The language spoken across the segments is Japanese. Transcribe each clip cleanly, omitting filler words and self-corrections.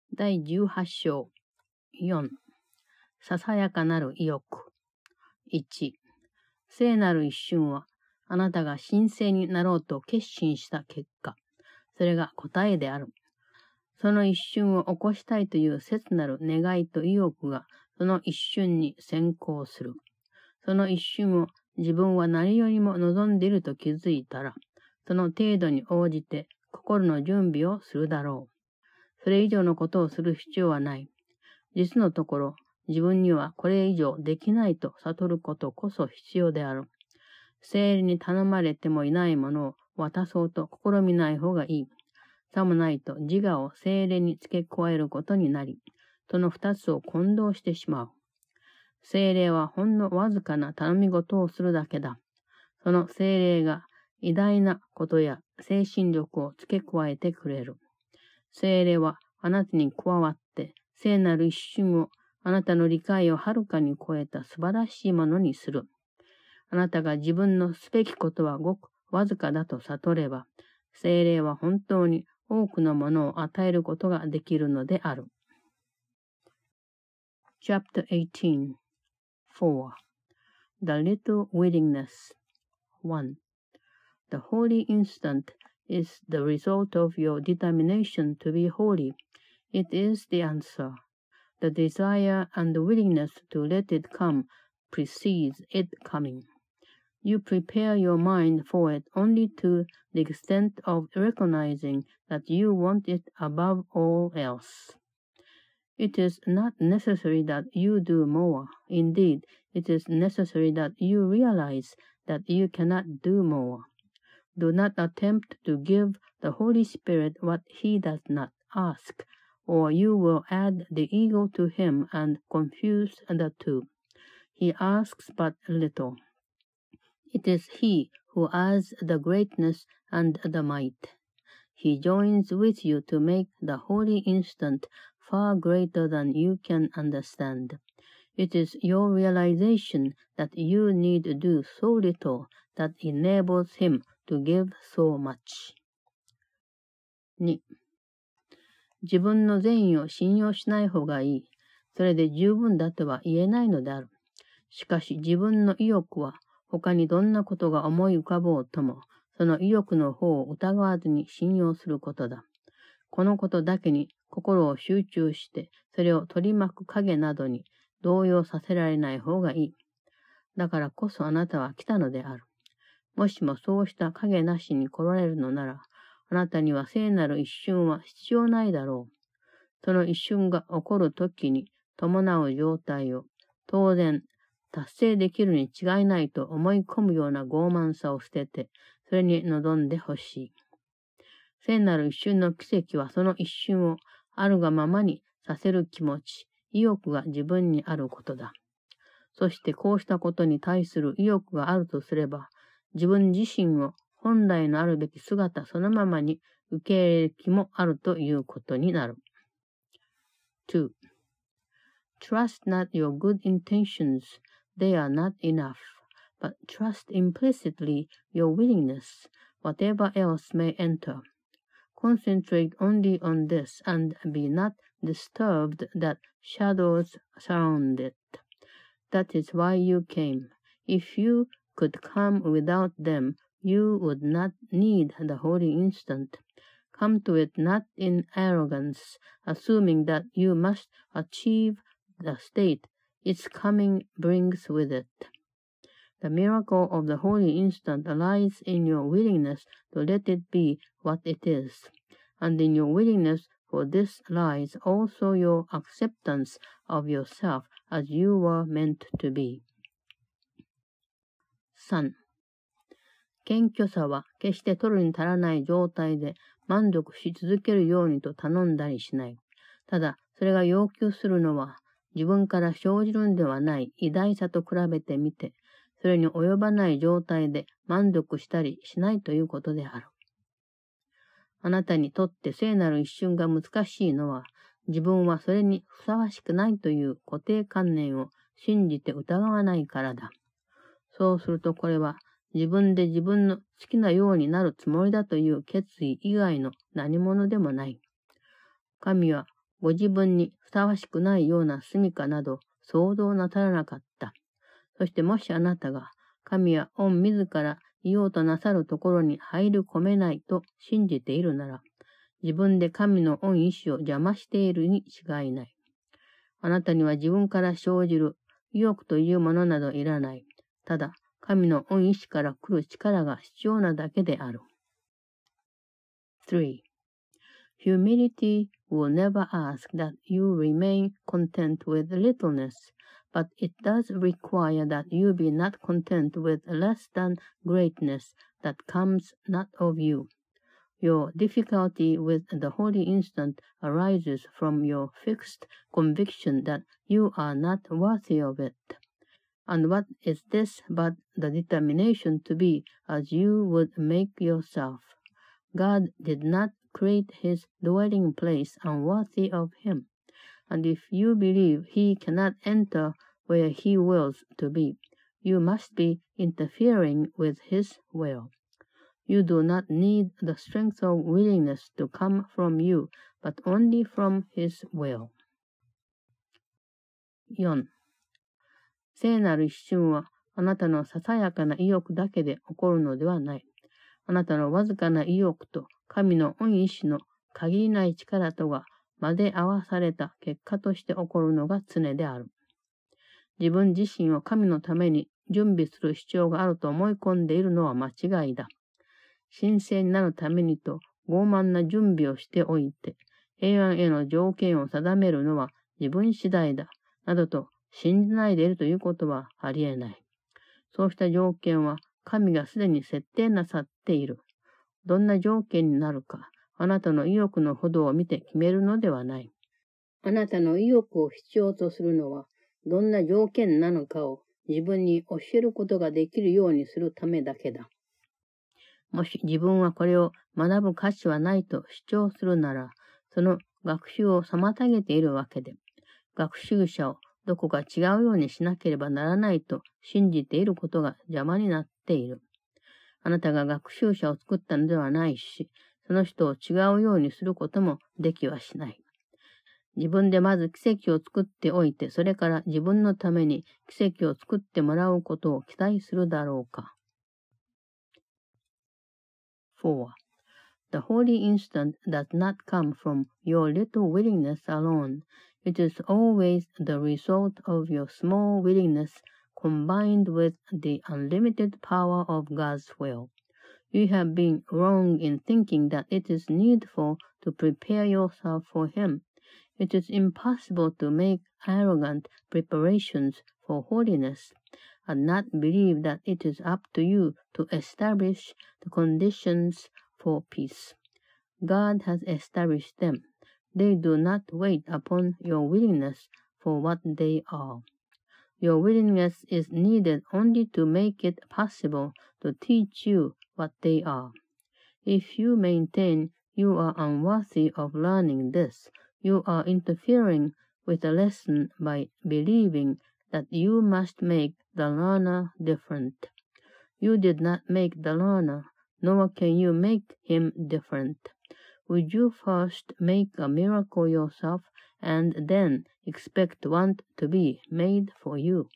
第18章4ささやかなる意欲。1、聖なる一瞬はあなたが神聖になろうと決心した結果、それが答えである。その一瞬を起こしたいという切なる願いと意欲がその一瞬に先行する。その一瞬を自分は何よりも望んでいると気づいたら、その程度に応じて心の準備をするだろう。それ以上のことをする必要はない。実のところ、自分にはこれ以上できないと悟ることこそ必要である。聖霊に頼まれてもいないものを渡そうと試みない方がいい。さもないと自我を聖霊に付け加えることになり、その二つを混同してしまう。聖霊はほんのわずかな頼み事をするだけだ。その聖霊が偉大なことや精神力を付け加えてくれる。聖霊はあなたに加わって聖なる一瞬をあなたの理解をはるかに超えた素晴らしいものにする。あなたが自分のすべきことはごくわずかだと悟れば、聖霊は本当に多くのものを与えることができるのである。Chapter 18 4. The Little Willingness 1. The holy instant is the result of your determination to be holy. It is the answer. The desire and the willingness to let it come precedes it coming. You prepare your mind for it only to the extent of recognizing that you want it above all else. It is not necessary that you do more. Indeed, it is necessary that you realize that you cannot do more. Do not attempt to give the Holy Spirit what He does not ask, or you will add the ego to Him and confuse the two. He asks but little. It is He who adds the greatness and the might. He joins with you to make the holy instant far greater than you can understand. It is your realization that you need do so little that enables Him to give so much. 2. 自分の善意を信用しない方がいい。それで十分だとは言えないのである。しかし自分の意欲は他にどんなことが思い浮かぼうとも、その意欲の方を疑わずに信用することだ。このことだけに心を集中して、それを取り巻く影などに動揺させられない方がいい。だからこそあなたは来たのである。もしもそうした影なしに来られるのなら、あなたには聖なる一瞬は必要ないだろう。その一瞬が起こるときに伴う状態を当然達成できるに違いないと思い込むような傲慢さを捨てて、それに臨んでほしい。聖なる一瞬の奇跡はその一瞬をあるがままにさせる気持ち、意欲が自分にあることだ。そしてこうしたことに対する意欲があるとすれば、自分自身を本来のあるべき姿そのままに受け入れる気もあるということになる。2. Trust not your good intentions. They are not enough. But trust implicitly your willingness, whatever else may enter. Concentrate only on this and be not disturbed that shadows surround it. That is why you came. If you could come without them, you would not need the holy instant. Come to it not in arrogance, assuming that you must achieve the state its coming brings with it. The miracle of the holy instant lies in your willingness to let it be what it is, and in your willingness for this lies also your acceptance of yourself as you were meant to be. 3. 謙虚さは決して取るに足らない状態で満足し続けるようにと頼んだりしない。ただ、それが要求するのは自分から生じるんではない偉大さと比べてみて、それに及ばない状態で満足したりしないということである。あなたにとって聖なる一瞬が難しいのは、自分はそれにふさわしくないという固定観念を信じて疑わないからだ。そうするとこれは自分で自分の好きなようになるつもりだという決意以外の何者でもない。神はご自分にふさわしくないような住処など想像なさらなかった。そしてもしあなたが神は御自らいようとなさるところに入り込めないと信じているなら、自分で神の御意志を邪魔しているに違いない。あなたには自分から生じる意欲というものなどいらない。ただ、神の御意志から来る力が必要なだけである。3. Humility will never ask that you remain content with littleness, but it does require that you be not content with less than greatness that comes not of you. Your difficulty with the holy instant arises from your fixed conviction that you are not worthy of it. And what is this but the determination to be as you would make yourself? God did not create his dwelling place unworthy of him. And if you believe he cannot enter where he wills to be, you must be interfering with his will. You do not need the strength of willingness to come from you, but only from his will. 4. 聖なる一瞬はあなたのささやかな意欲だけで起こるのではない。あなたのわずかな意欲と神の御意志の限りない力とが混ぜ合わされた結果として起こるのが常である。自分自身を神のために準備する必要があると思い込んでいるのは間違いだ。神聖になるためにと傲慢な準備をしておいて、平安への条件を定めるのは自分次第だ、などと信じないでいるということはありえない。そうした条件は神がすでに設定なさっている。どんな条件になるか、あなたの意欲のほどを見て決めるのではない。あなたの意欲を必要とするのは、どんな条件なのかを自分に教えることができるようにするためだけだ。もし自分はこれを学ぶ価値はないと主張するなら、その学習を妨げているわけで、学習者をどこか違うようにしなければならないと信じていることが邪魔になっている。あなたが学習者を作ったのではないし、その人を違うようにすることもできはしない。自分でまず奇跡を作っておいて、それから自分のために奇跡を作ってもらうことを期待するだろうか。4. The holy instant does not come from your little willingness alone. It is always the result of your small willingness combined with the unlimited power of God's will. You have been wrong in thinking that it is needful to prepare yourself for Him. It is impossible to make arrogant preparations for holiness, and not believe that it is up to you to establish the conditions for peace. God has established them. They do not wait upon your willingness for what they are. Your willingness is needed only to make it possible to teach you what they are. If you maintain you are unworthy of learning this, you are interfering with the lesson by believing that you must make the learner different. You did not make the learner, nor can you make him different. Would you first make a miracle yourself, and then expect one to be made for you?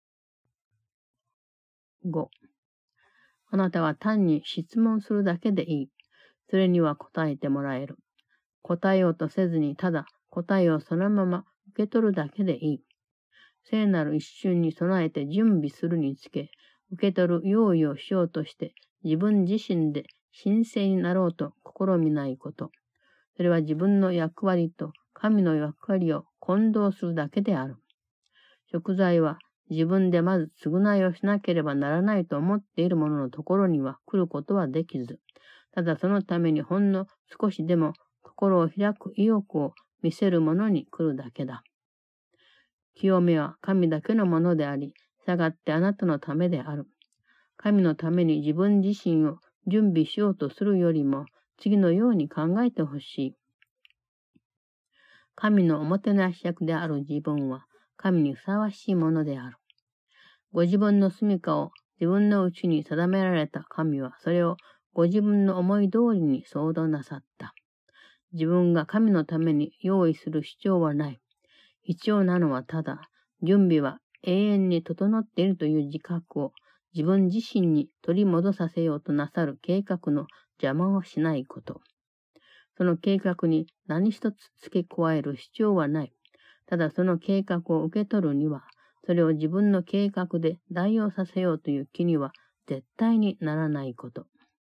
5. あなたは単に質問するだけでいい。それには答えてもらえる。答えようとせずにただ答えをそのまま受け取るだけでいい。聖なる一瞬に備えて準備するにつけ、受け取る用意をしようとして自分自身で神聖になろうと試みないこと。それは自分の役割と神の役割を混同するだけである。贖罪は自分でまず償いをしなければならないと思っている者のところには来ることはできず、ただそのためにほんの少しでも心を開く意欲を見せる者に来るだけだ。清めは神だけのものであり、したがってあなたのためである。神のために自分自身を準備しようとするよりも、次のように考えてほしい。神のおもてなし役である自分は、神にふさわしいものである。ご自分の住処を自分のうちに定められた神は、それをご自分の思い通りに創造なさった。 自分が神のために用意する必要はない。必要なのはただ、準備は永遠に整っているという自覚を自分自身に取り戻させようとなさる計画の邪魔をしないこと。その計画に何一つ付け加える必要はない。ただその計画を受け取るには、それを自分の計画で代用させようという気には絶対にならないこと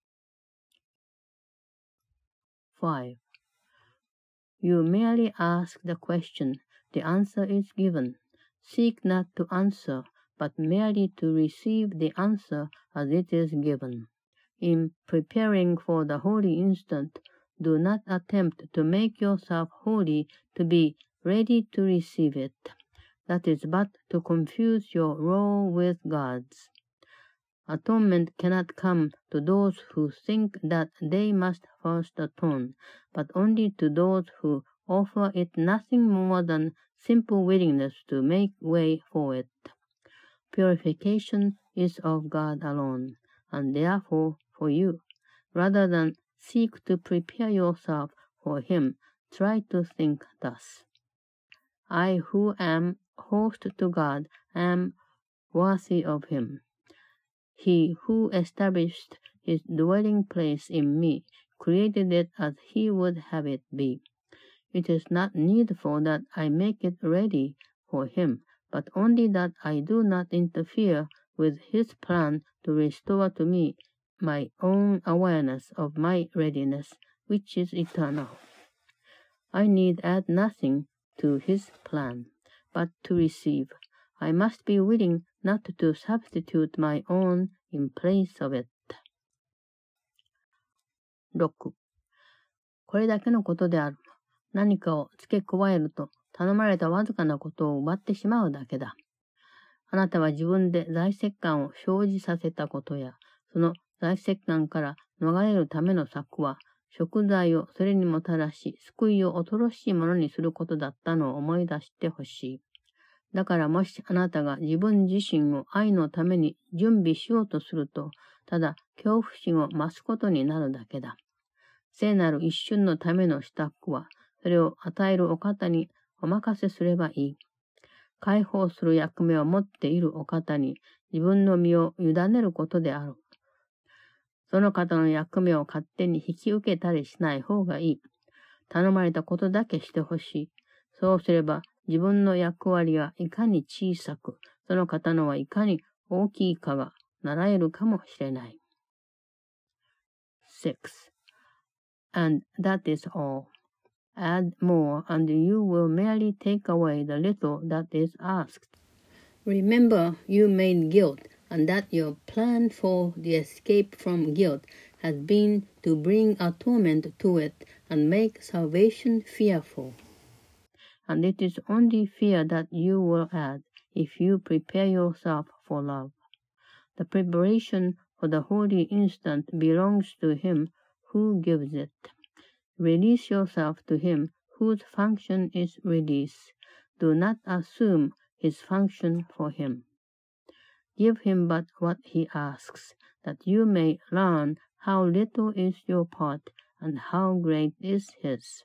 。5. You merely ask the question, the answer is given. Seek not to answer, but merely to receive the answer as it is given. In preparing for the holy instant, do not attempt to make yourself holy to be ready to receive it. That is but to confuse your role with God's. Atonement cannot come to those who think that they must first atone, but only to those who offer it nothing more than simple willingness to make way for it. Purification is of God alone, and therefore for you. Rather than seek to prepare yourself for Him, try to think thus. I who am host to God am worthy of Him. He who established His dwelling place in me created it as He would have it be. It is not needful that I make it ready for Him, but only that I do not interfere with His plan to restore to me my own awareness of my readiness, which is eternal. I need add nothing to His plan, but to receive. I must be willing not to substitute my own in place of it. 6. これだけのことである。何かを付け加えると頼まれたわずかなことを奪ってしまうだけだ。あなたは自分で財石感を生じさせたことや、その財石感から逃れるための策は、贖罪をそれにもたらし、救いを恐ろしいものにすることだったのを思い出してほしい。だからもしあなたが自分自身を愛のために準備しようとすると、ただ恐怖心を増すことになるだけだ。聖なる一瞬のための支度は、それを与えるお方にお任せすればいい。解放する役目を持っているお方に自分の身を委ねることである。その方の役目を勝手に引き受けたりしない方がいい。頼まれたことだけしてほしい。そうすれば自分の役割がいかに小さく、その方のはいかに大きいかが習えるかもしれない。6. And that is all. Add more, and you will merely take away the little that is asked. Remember, you made guilt, and that your plan for the escape from guilt has been to bring atonement to it and make salvation fearful. And it is only fear that you will add if you prepare yourself for love. The preparation for the holy instant belongs to Him who gives it. Release yourself to Him whose function is release. Do not assume His function for Him. Give Him but what He asks, that you may learn how little is your part and how great is His.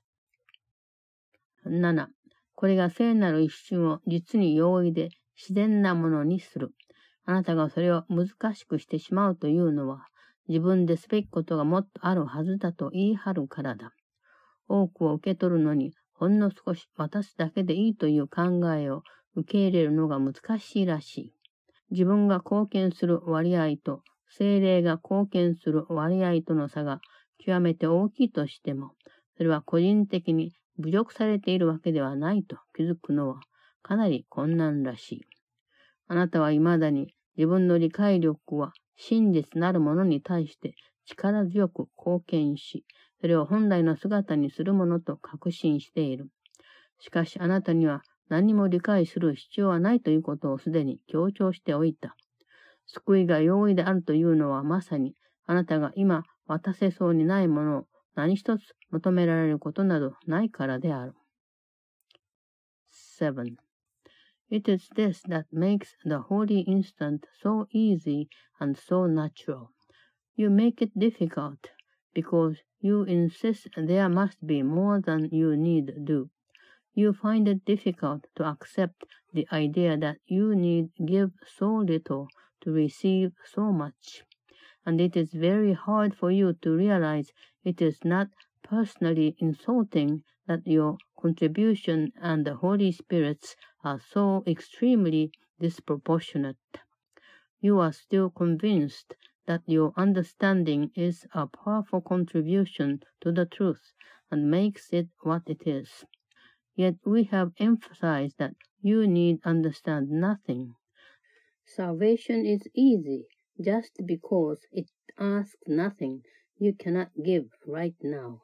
7. これが聖なる一瞬を実に容易で自然なものにする。あなたがそれを難しくしてしまうというのは、自分ですべきことがもっとあるはずだと言い張るからだ。多くを受け取るのにほんの少し渡すだけでいいという考えを受け入れるのが難しいらしい。自分が貢献する割合と聖霊が貢献する割合との差が極めて大きいとしても、それは個人的に侮辱されているわけではないと気づくのはかなり困難らしい。あなたは未だに自分の理解力は真実なるものに対して力強く貢献し、それを本来の姿にするものと確信している。しかしあなたには何も理解する必要はないということをすでに強調しておいた。救いが容易であるというのはまさにあなたが今渡せそうにないものを何一つ求められることなどないからである。7. It is this that makes the holy instant so easy and so natural. You make it difficult because you insist there must be more than you need do. You find it difficult to accept the idea that you need give so little to receive so much. And it is very hard for you to realize it is not personally insulting that your contribution and the Holy Spirit's are so extremely disproportionate. You are still convinced that your understanding is a powerful contribution to the truth and makes it what it is. Yet we have emphasized that you need understand nothing. Salvation is easy just because it asks nothing you cannot give right now.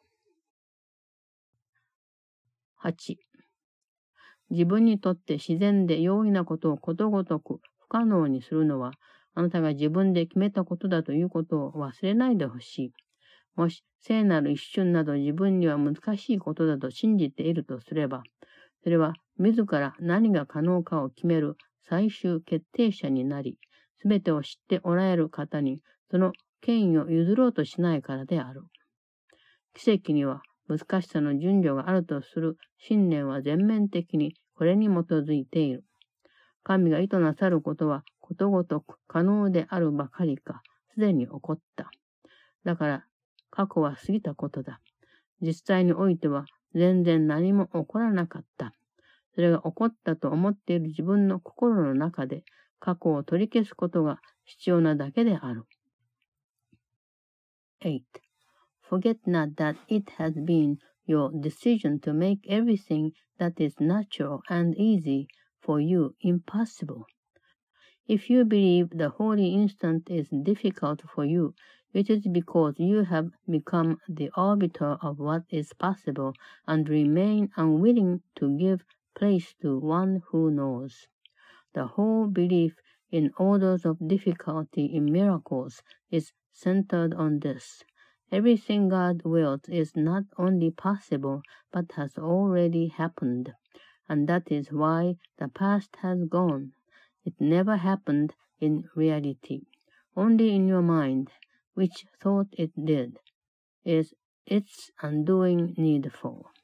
8. 自分にとって自然で容易なことをことごとく不可能にするのは、あなたが自分で決めたことだということを忘れないでほしい。もし聖なる一瞬など自分には難しいことだと信じているとすれば、それは自ら何が可能かを決める最終決定者になり、すべてを知っておられる方にその権威を譲ろうとしないからである。奇跡には難しさの順序があるとする信念は全面的にこれに基づいている。神が意図なさることはことごとく可能であるばかりか、すでに起こった。だから、過去は過ぎたことだ。実際においては全然何も起こらなかった。それが起こったと思っている自分の心の中で過去を取り消すことが必要なだけである。8. Forget not that it has been your decision to make everything that is natural and easy for you impossible. If you believe the holy instant is difficult for you, it is because you have become the arbiter of what is possible and remain unwilling to give place to one who knows. The whole belief in orders of difficulty in miracles is centered on this. Everything God wills is not only possible, but has already happened. And that is why the past has gone. It never happened in reality. Only in your mind, which thought it did, is its undoing needful.